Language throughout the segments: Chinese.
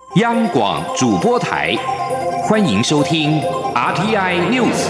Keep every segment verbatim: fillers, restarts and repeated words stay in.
央广主播台，欢迎收听 R T I News。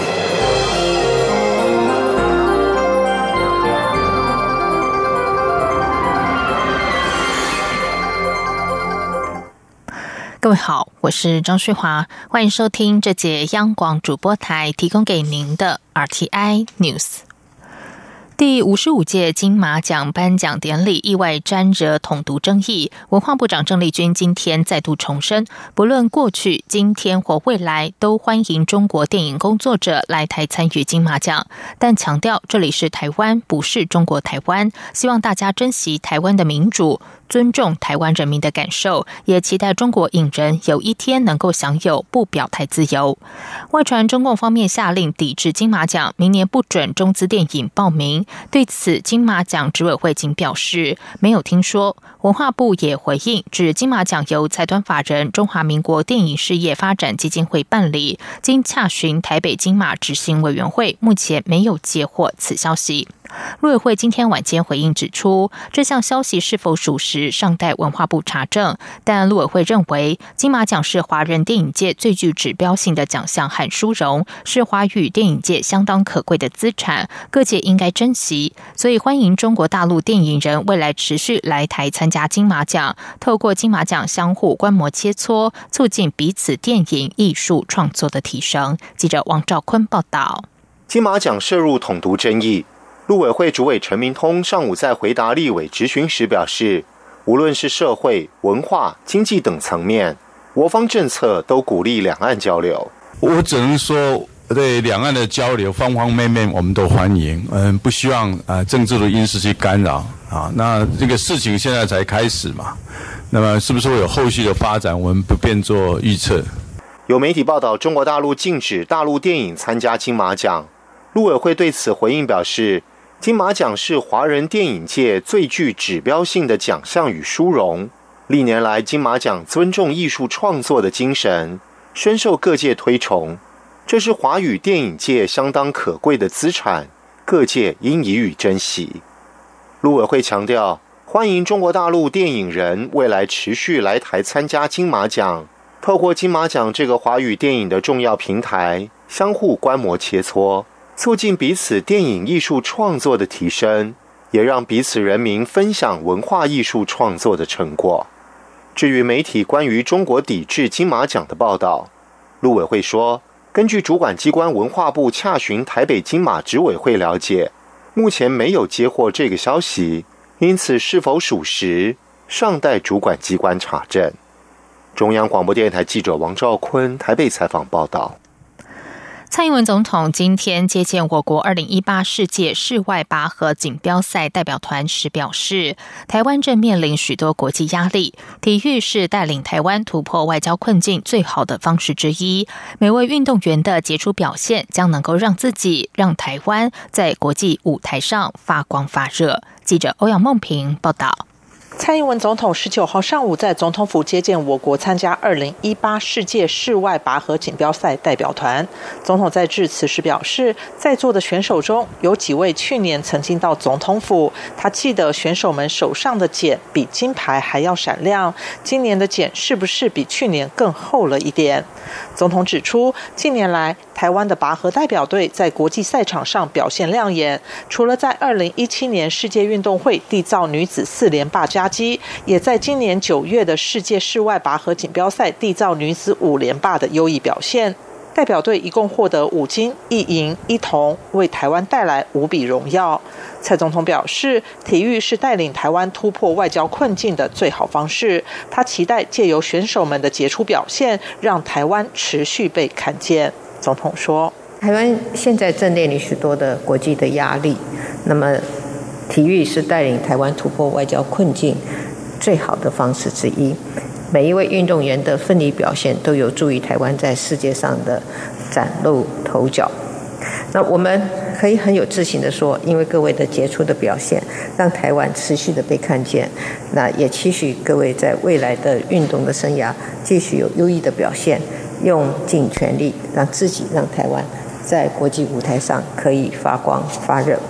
各位好，我是张旭华，欢迎收听这节央广主播台提供给您的 R T I News。第五十五届金马奖颁奖典礼意外沾惹统独争议，文化部长郑丽君今天再度重申，不论过去、今天或未来，都欢迎中国电影工作者来台参与金马奖，但强调这里是台湾，不是中国台湾，希望大家珍惜台湾的民主，尊重台湾人民的感受，也期待中国影人有一天能够享有不表态自由。外传中共方面下令抵制金马奖，明年不准中资电影报名。对此，金马奖执委会仅表示没有听说。文化部也回应，指金马奖由财团法人中华民国电影事业发展基金会办理，经洽询台北金马执行委员会，目前没有接获此消息。陆委会今天晚间回应指出，这项消息是否属实尚待文化部查证，但陆委会认为金马奖是华人电影界最具指标性的奖项和殊荣，是华语电影界相当可贵的资产，各界应该珍惜，所以欢迎中国大陆电影人未来持续来台参加金马奖，透过金马奖相互观摩切磋，促进彼此电影艺术创作的提升。记者王兆坤报道。 金马奖涉入统独争议，陆委会主委陈明通上午在回答立委质询时表示，无论是社会、文化、经济等层面，我方政策都鼓励两岸交流。 我只能说，对两岸的交流方方面面我们都欢迎，嗯，不希望啊政治的因素去干扰啊。那这个事情现在才开始嘛，那么是不是会有后续的发展，我们不便做预测。 有媒体报道，中国大陆禁止大陆电影参加金马奖，陆委会对此回应表示，金马奖是华人电影界最具指标性的奖项与殊荣，历年来金马奖尊重艺术创作的精神，深受各界推崇，这是华语电影界相当可贵的资产，各界应予以珍惜。陆委会强调，欢迎中国大陆电影人未来持续来台参加金马奖，透过金马奖这个华语电影的重要平台，相互观摩切磋，促进彼此电影艺术创作的提升，也让彼此人民分享文化艺术创作的成果。至于媒体关于中国抵制金马奖的报道，陆委会说，根据主管机关文化部洽询台北金马执委会了解，目前没有接获这个消息，因此是否属实，尚待主管机关查证。中央广播电台记者王兆坤台北采访报道。 蔡英文总统今天接见我国二零一八世界室外拔河锦标赛代表团时表示，台湾正面临许多国际压力，体育是带领台湾突破外交困境最好的方式之一。每位运动员的杰出表现将能够让自己、让台湾在国际舞台上发光发热。记者欧阳梦平报道。 蔡英文总统十九号上午在总统府接见我国参加二零一八世界室外拔河锦标赛代表团。总统在致辞时表示，在座的选手中有几位去年曾经到总统府，他记得选手们手上的茧比金牌还要闪亮，今年的茧是不是比去年更厚了一点？总统指出，近年来台湾的拔河代表队在国际赛场上表现亮眼，除了在二零一七年世界运动会缔造女子四连霸佳绩，也在今年九月的世界室外拔河锦标赛缔造女子五连霸的优异表现。代表队一共获得五金一银一铜，为台湾带来无比荣耀。蔡总统表示，体育是带领台湾突破外交困境的最好方式，他期待借由选手们的杰出表现，让台湾持续被看见。总统说， 台湾现在正面临许多的国际的压力，那么体育是带领台湾突破外交困境最好的方式之一。每一位运动员的奋力表现都有助于台湾在世界上的崭露头角。那我们可以很有自信地说，因为各位的杰出的表现，让台湾持续的被看见。那也期许各位在未来的运动的生涯继续有优异的表现，用尽全力让自己、让台湾在国际舞台上可以发光发热。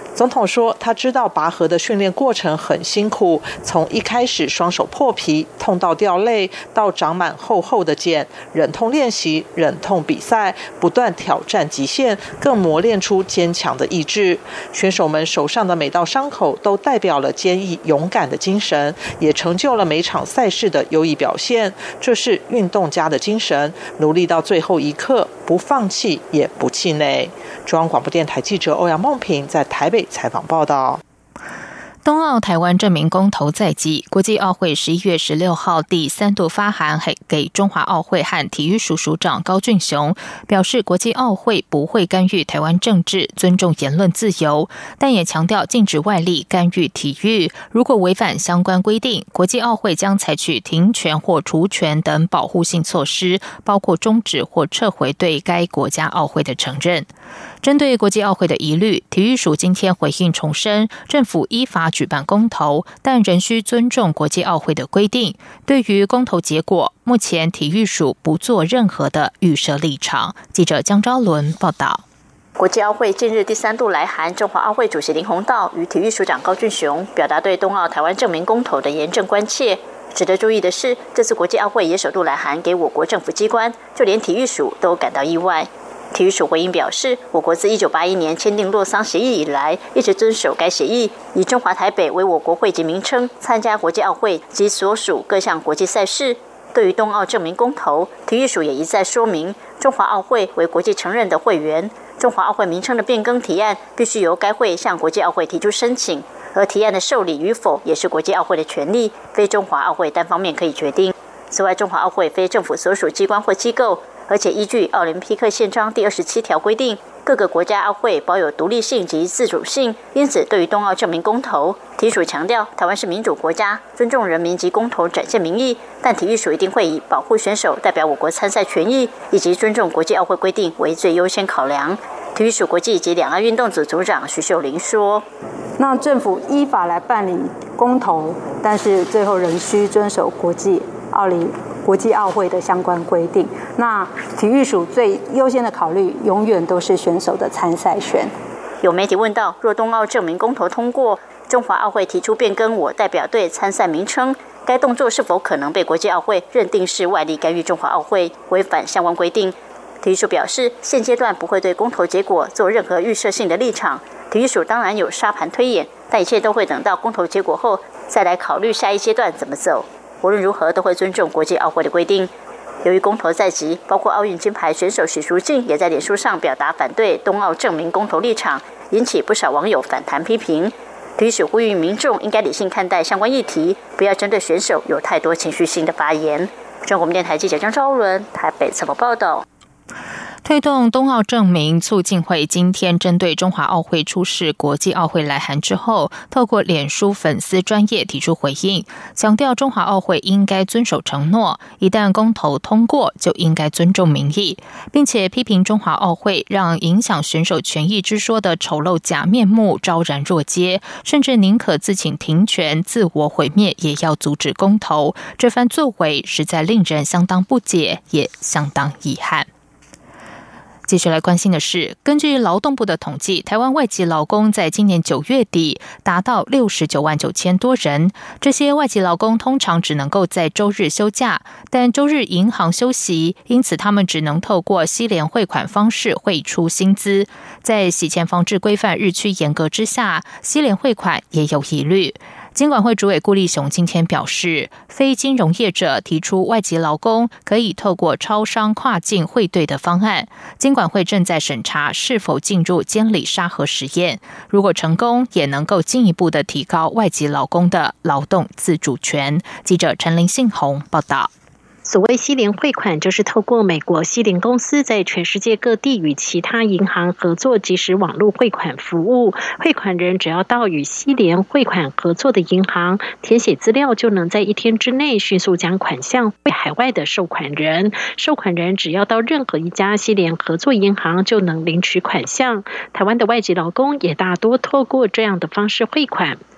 总统说，他知道拔河的训练过程很辛苦，从一开始双手破皮，痛到掉泪，到长满厚厚的茧，忍痛练习，忍痛比赛，不断挑战极限，更磨练出坚强的意志。选手们手上的每道伤口都代表了坚毅勇敢的精神，也成就了每场赛事的优异表现。这是运动家的精神，努力到最后一刻，不放弃也不气馁。中央广播电台记者欧阳梦平在台北采访报道。 冬奥台湾证明公投在即，国际奥会十一月十六号第三度发函给中华奥会和体育署署长高俊雄，表示国际奥会不会干预台湾政治，尊重言论自由，但也强调禁止外力干预体育。如果违反相关规定，国际奥会将采取停权或除权等保护性措施，包括终止或撤回对该国家奥会的承认。针对国际奥会的疑虑，体育署今天回应重申，政府依法举办公投，但仍需尊重国际奥会的规定。对于公投结果，目前体育署不做任何的预设立场。记者江昭伦报道。 国际奥会近日第三度来函中华奥会主席林鸿道与体育署长高俊雄，表达对冬奥台湾证明公投的严正关切。值得注意的是，这次国际奥会也首度来函给我国政府机关，就连体育署都感到意外。体育署回应表示，我国自一九八一年签订洛桑协议以来，一直遵守该协议，以中华台北为我国会籍名称，参加国际奥会及所属各项国际赛事。对于冬奥证明公投，体育署也一再说明，中华奥会为国际承认的会员，中华奥会名称的变更提案必须由该会向国际奥会提出申请，而提案的受理与否也是国际奥会的权利，非中华奥会单方面可以决定。此外，中华奥会非政府所属机关或机构，而且依据奥林匹克宪章第二十七条规定，各个国家奥会保有独立性及自主性，因此对于冬奥证明公投，体育署强调台湾是民主国家，尊重人民及公投展现民意，但体育署一定会以保护选手、代表我国参赛权益以及尊重国际奥会规定为最优先考量。体育署国际及两岸运动组组长徐秀玲说：“ 那政府依法来办理公投，但是最后仍需遵守国际奥林。”国际奥会的相关规定，那体育署最优先的考虑永远都是选手的参赛权。 有媒体问到，若冬奥证明公投通过，中华奥会提出变更我代表队参赛名称，该动作是否可能被国际奥会认定是外力干预中华奥会，违反相关规定？体育署表示，现阶段不会对公投结果做任何预设性的立场。体育署当然有沙盘推演，但一切都会等到公投结果后再来考虑下一阶段怎么走。无论如何，都会尊重国际奥会的规定。由于公投在即，包括奥运金牌选手许淑净也在脸书上表达反对冬奥证明公投立场，引起不少网友反弹批评。体育署呼吁民众应该理性看待相关议题，不要针对选手有太多情绪性的发言。中国电台记者张昭伦台北采访报道。 推动冬奥证明促进会今天针对中华奥会出示国际奥会来函之后，透过脸书粉丝专页提出回应，强调中华奥会应该遵守承诺，一旦公投通过就应该尊重民意，并且批评中华奥会让影响选手权益之说的丑陋假面目昭然若揭，甚至宁可自请停权自我毁灭也要阻止公投，这番作为实在令人相当不解，也相当遗憾。继续来关心的是，根据劳动部的统计，台湾外籍劳工在今年九月底达到六十九万九千多人。这些外籍劳工通常只能够在周日休假，但周日银行休息，因此他们只能透过西联汇款方式汇出薪资。在洗钱防治规范日趋严格之下，西联汇款也有疑虑。金管会主委顾立雄今天表示，非金融业者提出外籍劳工可以透过超商跨境汇兑的方案，金管会正在审查是否进入监理沙盒实验，如果成功，也能够进一步的提高外籍劳工的劳动自主权。记者陈林信宏报道。 所谓西联汇款，就是透过美国西联公司在全世界各地与其他银行合作即时网络汇款服务。汇款人只要到与西联汇款合作的银行填写资料，就能在一天之内迅速将款项汇海外的收款人。收款人只要到任何一家西联合作银行就能领取款项。台湾的外籍劳工也大多透过这样的方式汇款。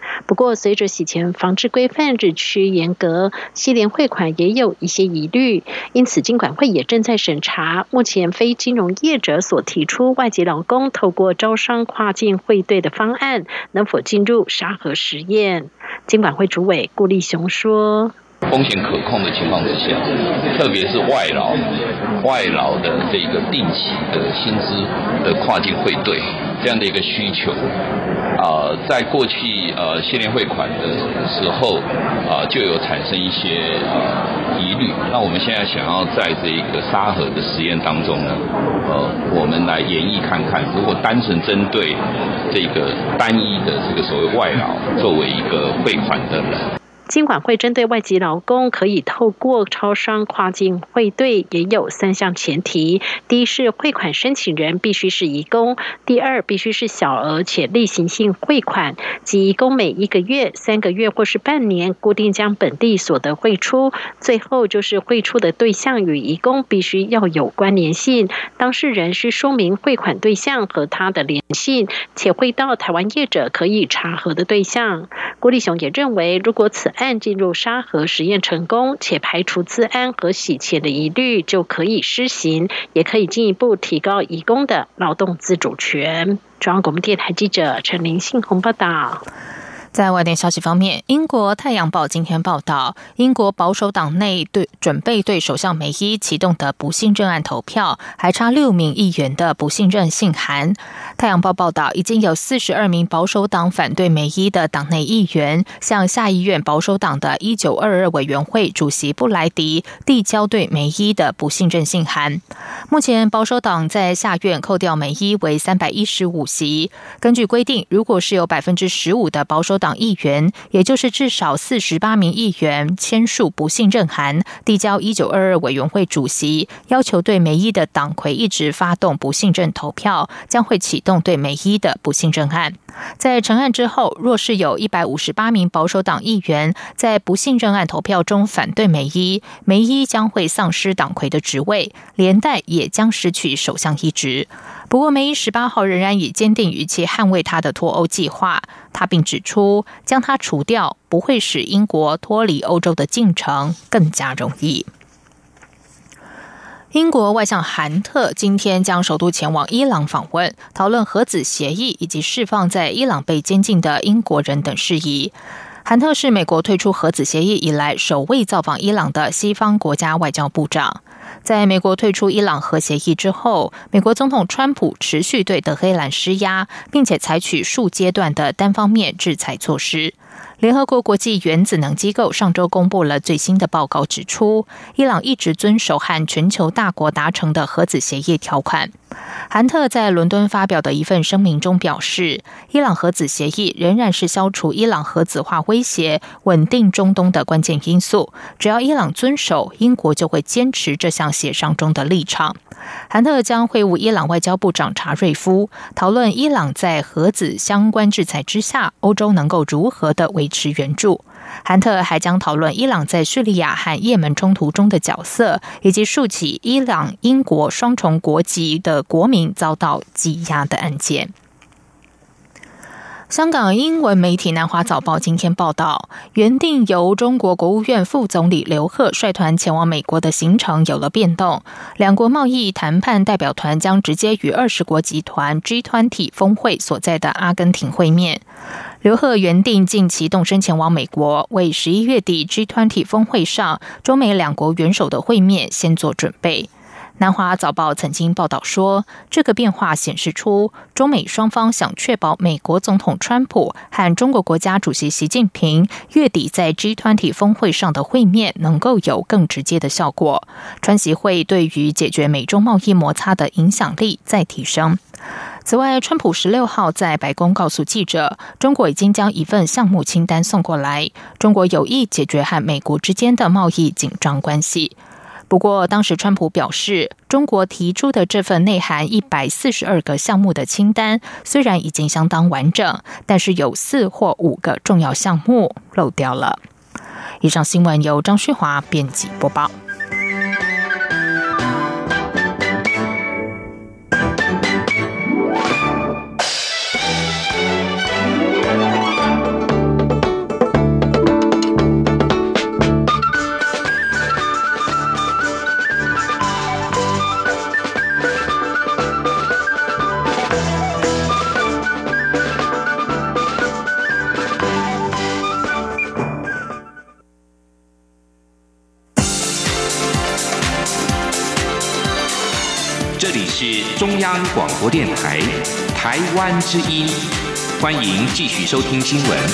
不过，随着洗钱防治规范日趋严格，西联汇款也有一些疑虑，因此金管会也正在审查目前非金融业者所提出外籍劳工透过招商跨境汇兑的方案，能否进入沙盒实验。金管会主委顾立雄说， 风险可控的情况之下，特别是外劳、外劳的这个定期的薪资的跨境汇兑这样的一个需求，啊、呃，在过去呃西联汇款的时候，啊、呃、就有产生一些呃疑虑。那我们现在想要在这个沙盒的实验当中呢，呃，我们来演绎看看，如果单纯针对这个单一的这个所谓外劳作为一个汇款的人。 金管会针对外籍劳工可以透过超商跨境汇兑，也有三项前提：第一是汇款申请人必须是移工；第二必须是小额且例行性汇款，即移工每一个月、三个月或是半年固定将本地所得汇出；最后就是汇出的对象与移工必须要有关联性，当事人需说明汇款对象和他的联系，且汇到台湾业者可以查核的对象。郭立雄也认为，如果此案进入沙盒实验成功，且排除资安和洗钱的疑虑，就可以施行，也可以进一步提高移工的劳动自主权。中央广播电台记者陈林信宏报道。 在外电消息方面，英国《太阳报》今天报道，英国保守党内对准备对首相梅伊启动的不信任案投票，还差六名议员的不信任信函。《太阳报》报道，已经有四十二名保守党反对梅伊的党内议员，向下议院保守党的一九二二委员会主席布莱迪递交对梅伊的不信任信函。目前保守党在下院扣掉梅伊为三百一十五席。根据规定，如果是有百分之十五的保守党议员，也就是至少四十八名议员签署不信任函，递交一九二二委员会主席，要求对梅伊的党魁一直发动不信任投票，将会启动对梅伊的不信任案。在成案之后，若是有一百五十八名保守党议员在不信任案投票中反对梅伊，梅伊将会丧失党魁的职位，连带也将失去首相一职。不过梅伊十八号仍然以坚定语气捍卫他的脱欧计划，他并指出，将他除掉不会使英国脱离欧洲的进程更加容易。英国外相韩特今天将首度前往伊朗访问，讨论核子协议以及释放在伊朗被监禁的英国人等事宜。韩特是美国退出核子协议以来首位造访伊朗的西方国家外交部长。在美国退出伊朗核协议之后，美国总统川普持续对德黑兰施压，并且采取数阶段的单方面制裁措施。联合国国际原子能机构上周公布了最新的报告，指出伊朗一直遵守和全球大国达成的核子协议条款。韩特在伦敦发表的一份声明中表示，伊朗核子协议仍然是消除伊朗核子化威胁、稳定中东的关键因素。只要伊朗遵守，英国就会坚持这项协商中的立场。韩特将会晤伊朗外交部长查瑞夫，讨论伊朗在核子相关制裁之下，欧洲能够如何的维持援助。韩特还将讨论伊朗在叙利亚和也门冲突中的角色，以及数起伊朗、英国双重国籍的国民遭到羁押的案件。香港英文媒体南华早报今天报道，原定由中国国务院副总理刘鹤率团前往美国的行程有了变动，两国贸易谈判代表团将直接与二十国集团 G 二十 峰会所在的阿根廷会面。刘鹤原定近期动身前往美国，为十一月底 G 二十 峰会上中美两国元首的会面先做准备。南华早报曾经报道说，这个变化显示出中美双方想确保美国总统川普和中国国家主席习近平月底在 G 二十 峰会上的会面能够有更直接的效果，川习会对于解决美中贸易摩擦的影响力再提升。此外，川普十六号在白宫告诉记者，中国已经将一份项目清单送过来，中国有意解决和美国之间的贸易紧张关系。不过，当时川普表示，中国提出的这份内含一百四十二个项目的清单，虽然已经相当完整，但是有四或五个重要项目漏掉了。以上新闻由张旭华编辑播报。 里是中央广播电台台湾之音，欢迎继续收听新闻。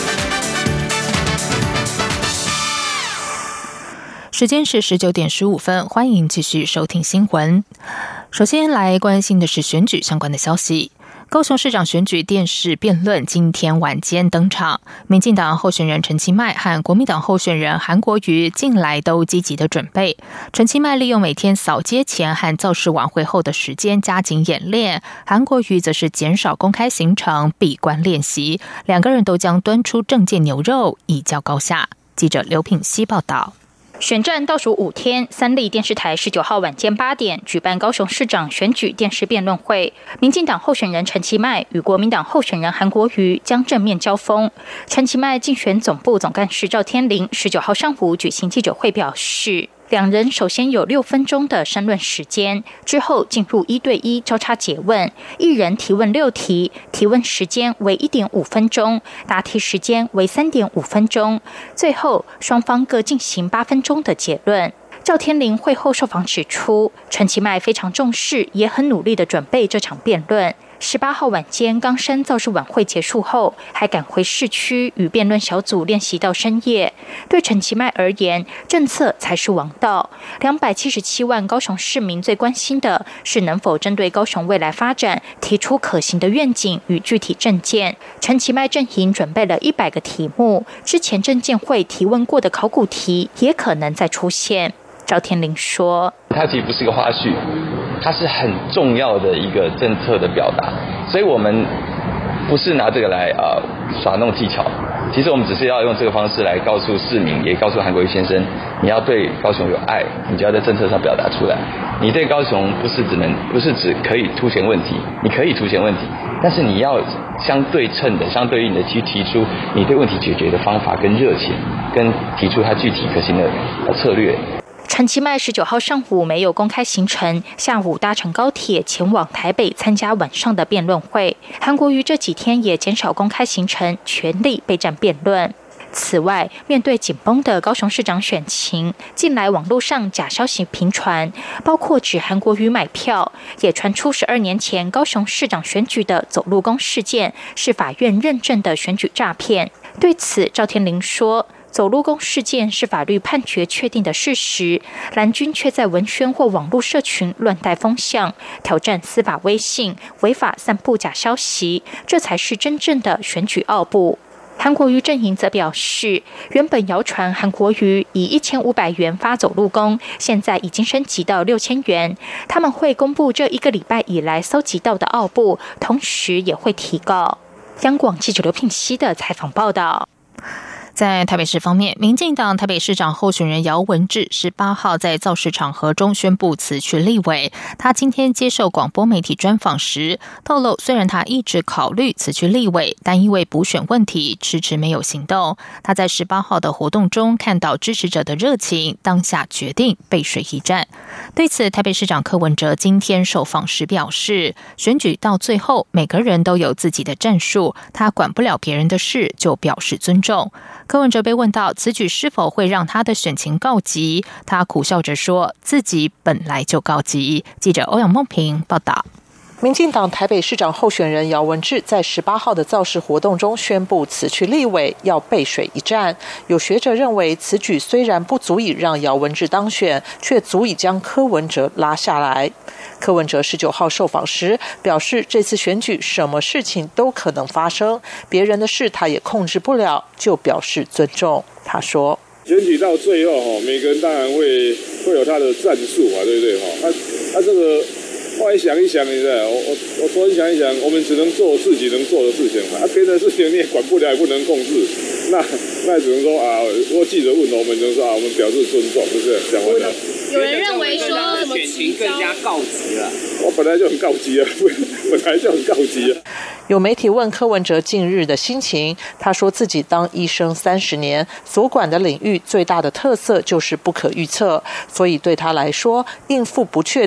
时间是十九点十五分，欢迎继续收听新闻。首先来关心的是选举相关的消息。高雄市长选举电视辩论今天晚间登场，民进党候选人陈其迈和国民党候选人韩国瑜近来都积极的准备。陈其迈利用每天扫街前和造势晚会后的时间加紧演练，韩国瑜则是减少公开行程，闭关练习。两个人都将端出政见牛肉，一较高下。记者刘品希报道。 选战倒数五天，三立电视台十九号晚间八点举办高雄市长选举电视辩论会，民进党候选人陈其迈与国民党候选人韩国瑜将正面交锋。陈其迈竞选总部总干事赵天麟十九号上午举行记者会表示，两人首先有六分钟的申论时间，之后进入一对一交叉诘问，一人提问六题，提问时间为一点五分钟，答题时间为三点五分钟，最后双方各进行八分钟的结论。赵天麟会后受访指出，陈其迈非常重视，也很努力的准备这场辩论。十八号晚间冈山造势晚会结束后，还赶回市区与辩论小组练习到深夜。对陈其迈而言，政策才是王道。两百七十七万高雄市民最关心的是能否针对高雄未来发展提出可行的愿景与具体政见。陈其迈阵营准备了一百个题目，之前政见会提问过的考古题也可能再出现。赵天麟说， 它其实不是个花絮，它是很重要的一个政策的表达，所以我们不是拿这个来呃耍弄技巧，其实我们只是要用这个方式来告诉市民，也告诉韩国瑜先生，你要对高雄有爱，你就要在政策上表达出来。你对高雄不是只能不是只可以凸显问题，你可以凸显问题，但是你要相对称的、相对应的去提出你对问题解决的方法跟热情，跟提出它具体可行的策略。 陈其迈十九号上午没有公开行程，下午搭乘高铁前往台北参加晚上的辩论会。韩国瑜这几天也减少公开行程，全力备战辩论。此外，面对紧绷的高雄市长选情，近来网络上假消息频传，包括指韩国瑜买票，也传出十二年前高雄市长选举的走路工事件是法院认证的选举诈骗。对此，赵天麟说，走路工事件是法律判决确定的事实，蓝军却在文宣或网络社群乱带风向，挑战司法威信，违法散布假消息，这才是真正的选举奥步。韩国瑜阵营则表示，原本谣传韩国瑜以一千五百元发走路工，现在已经升级到六千元。他们会公布这一个礼拜以来搜集到的奥步，同时也会提告。央广记者刘聘熙的采访报道。 在台北市方面，民进党台北市长候选人姚文智十八号在造势场合中宣布辞去立委。他今天接受广播媒体专访时透露，虽然他一直考虑辞去立委，但因为补选问题迟迟没有行动。他在十八号的活动中看到支持者的热情，当下决定背水一战。对此，台北市长柯文哲今天受访时表示，选举到最后每个人都有自己的战术，他管不了别人的事，就表示尊重。柯文哲被问到此举是否会让他的选情告急，他苦笑着说自己本来就告急。记者欧阳梦平报道。 民进党台北市长候选人姚文智在十八号的造势活动中宣布辞去立委，要背水一战。有学者认为，此举虽然不足以让姚文智当选，却足以将柯文哲拉下来。柯文哲十九号受访时表示，这次选举什么事情都可能发生，别人的事他也控制不了，就表示尊重。他说， 选举到最后，每个人当然会会有他的战术嘛，对不对？他他这个后来想一想，你知道，我我我突然想一想，我们只能做自己能做的事情嘛，啊，别的事情你也管不了，也不能控制，那那只能说啊，如果记者问我们，只能说啊，我们表示尊重，是不是？讲完了。 有人认为说什么选情更加告急了？ 我本来就很告急啊，本来就很告急啊。 有媒体问柯文哲近日的心情，他说自己当医生三十年，所管的领域最大的特色就是不可预测，所以对他来说，应付不确定、不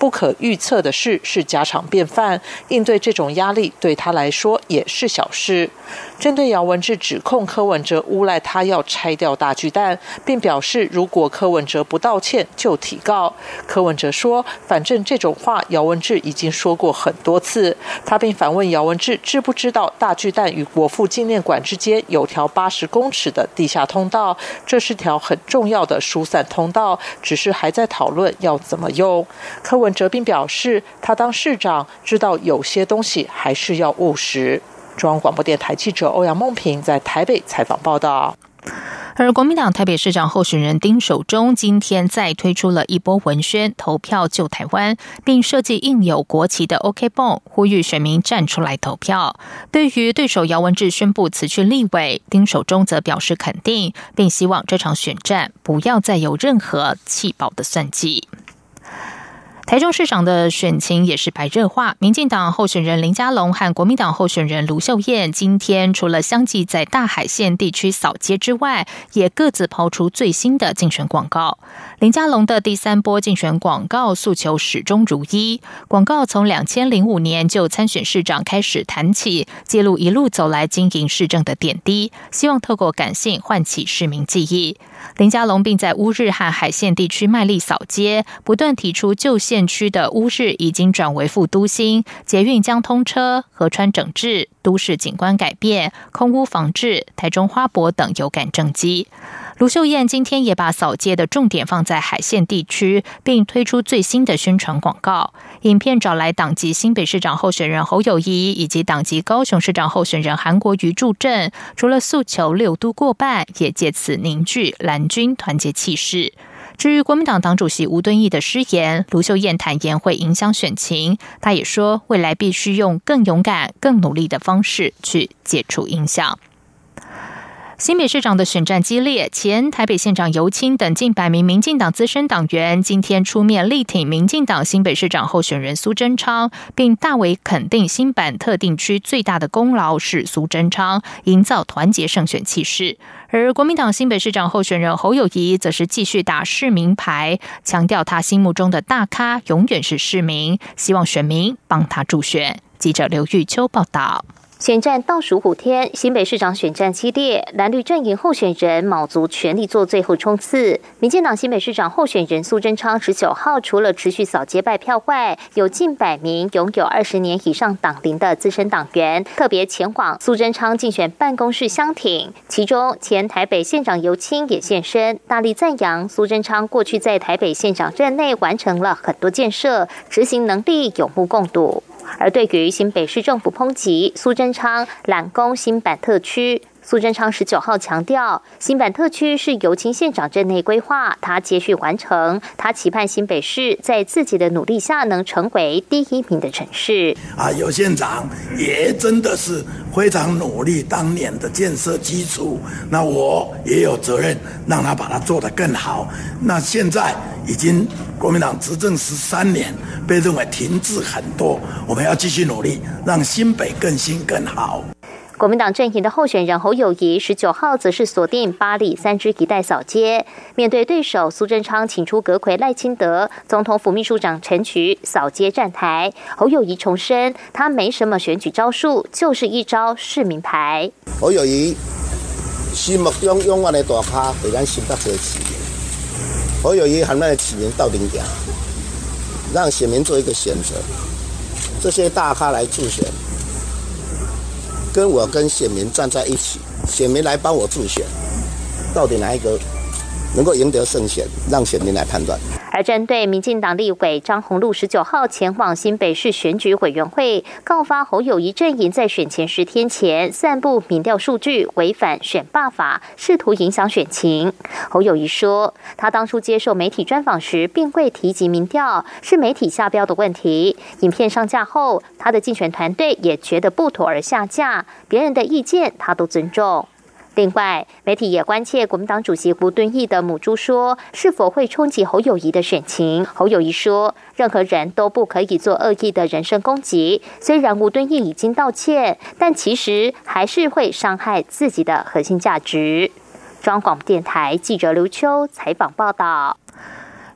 不可预测的事是家常便饭，应对这种压力对他来说也是小事。针对姚文智指控柯文哲诬赖他要拆掉大巨蛋，并表示如果柯文哲不道歉就提告。柯文哲说，反正这种话姚文智已经说过很多次。他并反问姚文智知不知道大巨蛋与国父纪念馆之间有条八十公尺的地下通道，这是条很重要的疏散通道，只是还在讨论要怎么用。柯文哲并表示，他当市长知道有些东西还是要务实。中央广播电台记者欧阳梦平在台北采访报道。 而国民党台北市长候选人丁守中今天再推出了一波文宣，投票救台湾，并设计印有国旗的 OK 绷，呼吁选民站出来投票。对于对手姚文智宣布辞去立委，丁守中则表示肯定，并希望这场选战不要再有任何弃保的算计。台中市长的选情也是白热化，民进党候选人林佳龙和国民党候选人卢秀燕今天除了相继在大海线地区扫街之外，也各自抛出最新的竞选广告。林佳龙的第三波竞选广告诉求始终如一，广告从两千零五年就参选市长开始谈起，揭露一路走来经营市政的点滴，希望透过感性唤起市民记忆。林佳龙并在乌日和海线地区卖力扫街，不断提出旧县区的乌日已经转为副都心，捷运将通车、河川整治、都市景观改变、空污防治、台中花博等有感政绩。卢秀燕今天也把扫街的重点放在海线地区，并推出最新的宣传广告。影片找来党籍新北市长候选人侯友宜以及党籍高雄市长候选人韩国瑜助阵，除了诉求六都过半，也借此凝聚蓝军团结气势。至于国民党党主席吴敦义的失言，卢秀燕坦言会影响选情，他也说未来必须用更勇敢、更努力的方式去解除影响。新北市长的选战激烈，前台北县长游青等近百名民进党资深党员今天出面力挺民进党新北市长候选人苏贞昌，并大为肯定新版特定区最大的功劳是苏贞昌，营造团结胜选气势。而国民党新北市长候选人侯友宜则是继续打市民牌，强调他心目中的大咖永远是市民，希望选民帮他助选。记者刘玉秋报道。 选战倒数五天，新北市长选战激烈，蓝绿阵营候选人卯足全力做最后冲刺。民进党新北市长候选人苏贞昌十九号除了持续扫街拜票外，有近百名拥有二十年以上党龄的资深党员特别前往苏贞昌竞选办公室相挺，其中前台北县长游青也现身，大力赞扬苏贞昌过去在台北县长任内完成了很多建设，执行能力有目共睹。而对于新北市政府抨击苏贞昌揽攻新版特区，苏贞昌十九号强调，新版特区是游青县长任内规划，他接续完成，他期盼新北市在自己的努力下能成为第一名的城市。 啊，游县长也真的是非常努力，当年的建设基础，那我也有责任让他把它做得更好。那现在已经国民党执政十三年，被认为停滞很多，我们要继续努力，让新北更新更好。 国民党阵营的候选人侯友宜十九号则是锁定八里三支一带扫街，面对对手苏贞昌请出阁揆赖清德、总统府秘书长陈菊扫街站台，侯友宜重申他没什么选举招数，就是一招市民牌。 侯友宜心目中永远的大咖，给咱新北市的市民。侯友宜和咱的市民到顶点，让选民做一个选择，这些大咖来助选。跟我跟选民站在一起，选民来帮我助选，到底哪一个能够赢得胜选，让选民来判断。 而针对民进党立委张宏陆十九号前往新北市选举委员会告发侯友宜阵营在选前十天前散布民调数据，违反选罢法，试图影响选情。侯友宜说，他当初接受媒体专访时并未提及民调，是媒体下标的问题。影片上架后，他的竞选团队也觉得不妥而下架，别人的意见他都尊重。另外，媒体也关切国民党主席吴敦义的母猪说是否会冲击侯友宜的选情。侯友宜说，任何人都不可以做恶意的人身攻击。虽然吴敦义已经道歉，但其实还是会伤害自己的核心价值。中央广播电台记者刘秋采访报道。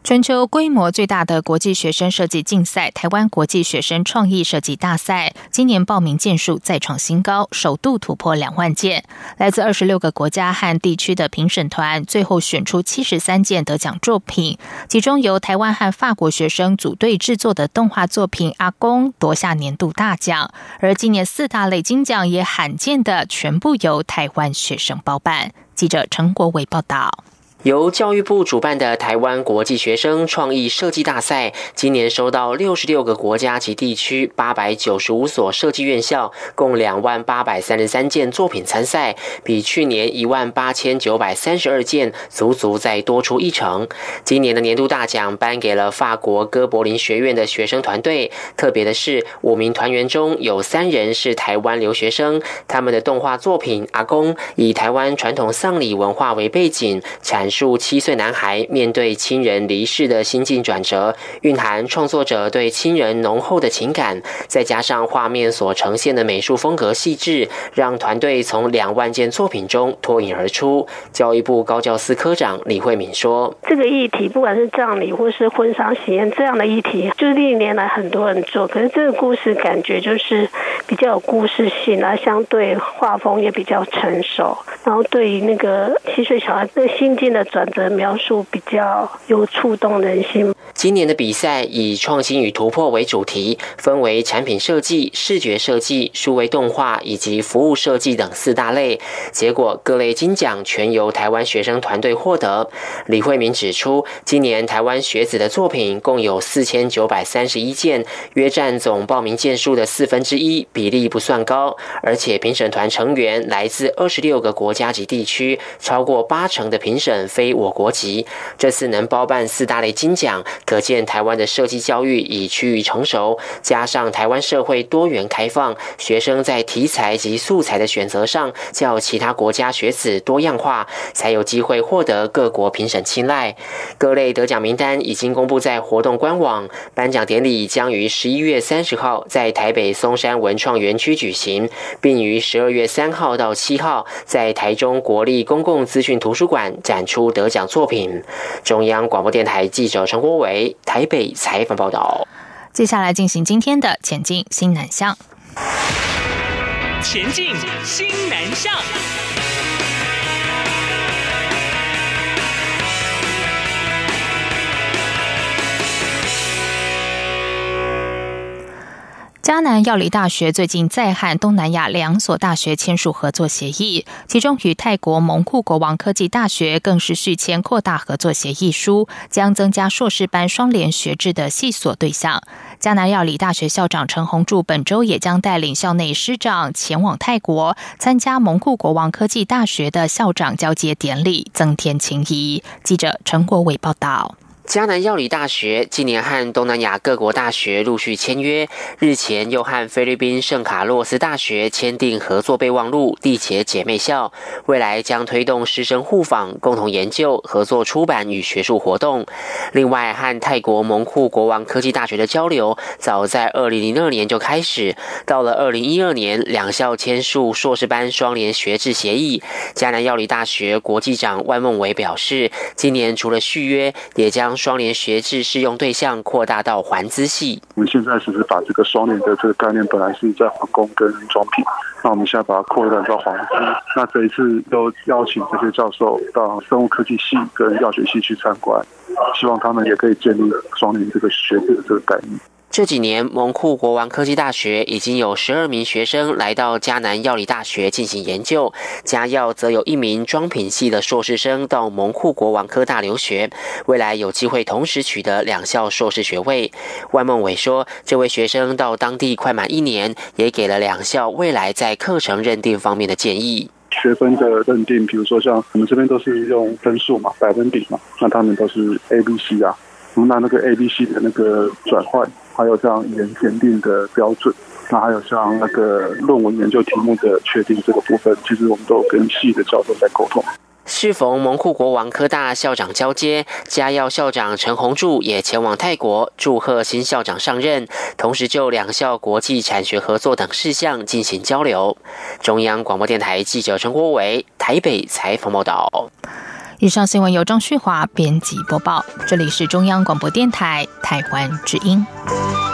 全球规模最大的国际学生设计竞赛——台湾国际学生创意设计大赛，今年报名件数再创新高，首度突破两万件。来自二十六个国家和地区的评审团，最后选出七十三件得奖作品，其中由台湾和法国学生组队制作的动画作品《阿公》夺下年度大奖。而今年四大类金奖也罕见的全部由台湾学生包办。记者陈国伟报道。 由教育部主办的台湾国际学生创意设计大赛，今年收到六十六个国家及地区八百九十五所设计院校，共两万八百三十三件作品参赛，比去年一万八千九百三十二件足足再多出一成。今年的年度大奖颁给了法国哥柏林学院的学生团队，特别的是五名团员中有三人是台湾留学生，他们的动画作品《阿公》以台湾传统丧礼文化为背景，阐述七岁男孩面对亲人离世的心境转折，蕴含创作者对亲人浓厚的情感，再加上画面所呈现的美术风格细致，让团队从两万件作品中脱颖而出。教育部高教司科长李慧敏说：“ 这个议题，不管是葬礼或是婚丧喜宴这样的议题，就是历年来很多人做，可是这个故事感觉就是比较有故事性啊，相对画风也比较成熟，然后对于那个七岁小孩的心境的转折描述比较有触动人心。” 今年的比赛以创新与突破为主题，分为产品设计、视觉设计、数位动画以及服务设计等四大类。结果各类金奖全由台湾学生团队获得。李慧敏指出，今年台湾学子的作品共有四千九百三十一件，约占总报名件数的四分之一，比例不算高。而且评审团成员来自二十六个国家及地区，超过八成的评审非我国籍。这次能包办四大类金奖，可见台湾的设计教育已趋于成熟，加上台湾社会多元开放，学生在题材及素材的选择上较其他国家学子多样化，才有机会获得各国评审青睐。各类得奖名单已经公布在活动官网，颁奖典礼将于十一月三十号在台北松山文创园区举行，并于十二月三号到七号在台中国立公共资讯图书馆展出得奖作品。中央广播电台记者陈国伟台北采访报道。 接下来进行今天的前进新南向。 前进新南向。 嘉南药理大学最近再和东南亚两所大学签署合作协议，其中与泰国蒙库国王科技大学更是续签扩大合作协议书，将增加硕士班双联学制的系所对象。嘉南药理大学校长陈宏柱本周也将带领校内师长前往泰国参加蒙库国王科技大学的校长交接典礼，增添情谊。记者陈国伟报道。 嘉南药理大学今年和东南亚各国大学陆续签约，日前又和菲律宾圣卡洛斯大学签订合作备忘录，缔结姐妹校，未来将推动师生互访、共同研究、合作出版与学术活动。另外，和泰国蒙库国王科技大学的交流，早在二零零二年就开始，到了二零一二年，两校签署硕士班双联学制协议。嘉南药理大学国际长万孟伟表示，今年除了续约，也将双联学制适用对象扩大到环资系。 我们现在只是把这个双联的这个概念本来是在化工跟装品，那我们现在把它扩大到环资。那这一次又邀请这些教授到生物科技系跟药学系去参观，希望他们也可以建立双联这个学制的这个概念。 这几年，蒙库国王科技大学已经有十二名学生来到嘉南药理大学进行研究，嘉药则有一名装品系的硕士生到蒙库国王科大留学，未来有机会同时取得两校硕士学位。万孟伟说，这位学生到当地快满一年，也给了两校未来在课程认定方面的建议。 学分的认定，比如说像我们这边都是用分数嘛，百分比嘛，那他们都是 A、B、C 啊，那那个 A、B、C 的那个转换，还有像语言检定的标准，那还有像那个论文研究题目的确定这个部分，其实我们都跟系的教授在沟通。 适逢蒙库国王科大校长交接，嘉药校长陈宏柱也前往泰国祝贺新校长上任，同时就两校国际产学合作等事项进行交流。中央广播电台记者陈国伟台北采访报道。 以上新闻由张旭华编辑播报，这里是中央广播电台台湾之音。